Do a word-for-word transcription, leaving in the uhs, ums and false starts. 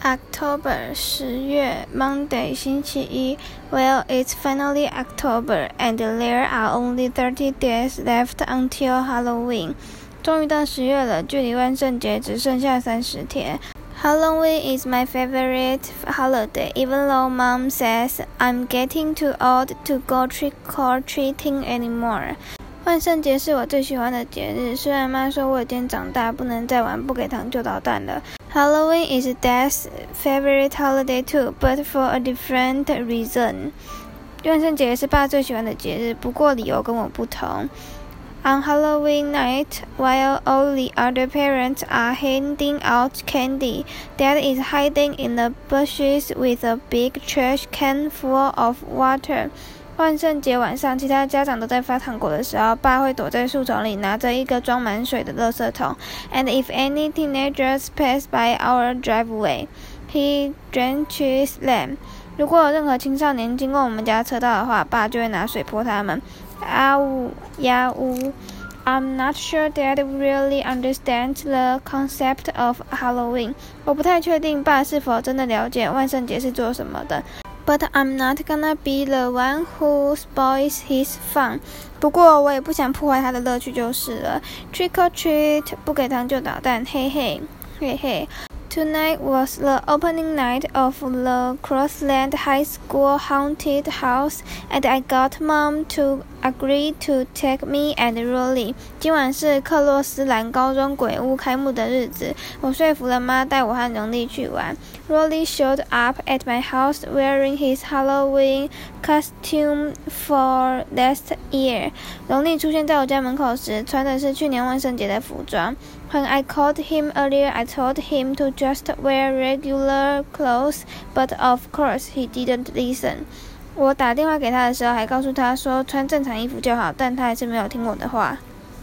October 十月 Monday 星期一 Well, it's finally October and there are only thirty days left until Halloween. 終於到十月了，距離萬聖節只剩下三十天。Halloween is my favorite holiday, even though Mom says I'm getting too old to go trick-or-treating anymore. 萬聖節是我最喜歡的節日，雖然媽說我已經長大，不能再玩不給糖就搗蛋了。Halloween is Dad's favorite holiday too, but for a different reason. 萬聖節是爸最喜歡的節日，不過理由跟我不同。On Halloween night, while all the other parents are handing out candy, Dad is hiding in the bushes with a big trash can full of water. 萬聖節晚上，其他家長都在發糖果的時候，爸會躲在樹叢裡，拿着一個裝滿水的垃圾桶。And if any teenagers pass by our driveway, he drenches them. 如果有任何青少年經過我們家車道的話，爸就會拿水潑他們。啊嗚呀嗚 I'm not sure Dad really understands the concept of Halloween. 我不太確定爸是否真的了解萬聖節是做什麼的。But I'm not gonna be the one who spoils his fun. 不過我也不想破壞他的樂趣就是了。Trick or treat, 不給糖就搗蛋，嘿嘿，嘿嘿。Tonight was the opening night of the Crossland High School Haunted House, and I got Mom to agree to take me and Rolly. 今晚是克洛斯蘭高中鬼屋開幕的日子，我說服了媽帶我和榮利去玩。Rolly showed up at my house wearing his Halloween costume for last year. 榮利出現在我家門口時，穿的是去年萬聖節的服裝。When I called him earlier, I told him to just wear regular clothes, but of course he didn't listen. 我打電話給他的時候，還告訴他說穿正常衣服就好，但他還是沒有聽我的話。